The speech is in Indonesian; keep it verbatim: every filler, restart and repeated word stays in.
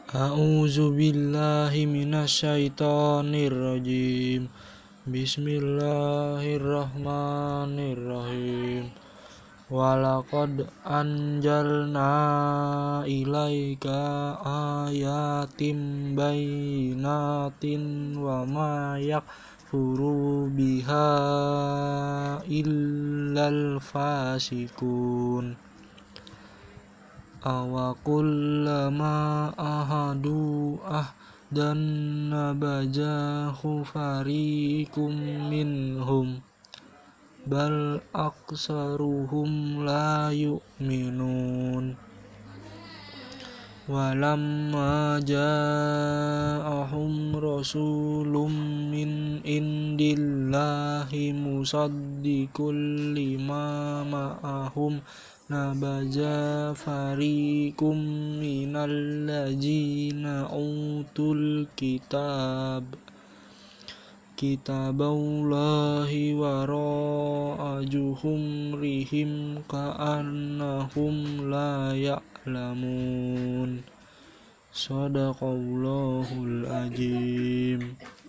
A'udzu billahi minasyaitonir rajim. Bismillahirrahmanirrahim. Walaqad anjalna ilaika ayatim bayyinatin wa ma yakfuru biha illal fasikun. Awa kullama ahadu ahdan nabajahu fariqum minhum bal aksaruhum la yu'minun. Walamma ja'ahum rasulun min indillahi musaddiqul lima ma'ahum nabaja fariqum minal ladzina utul kitab kitaballahi wara'a juhumrihim ka'annahum la ya'lamun. Shadaqallahul azim.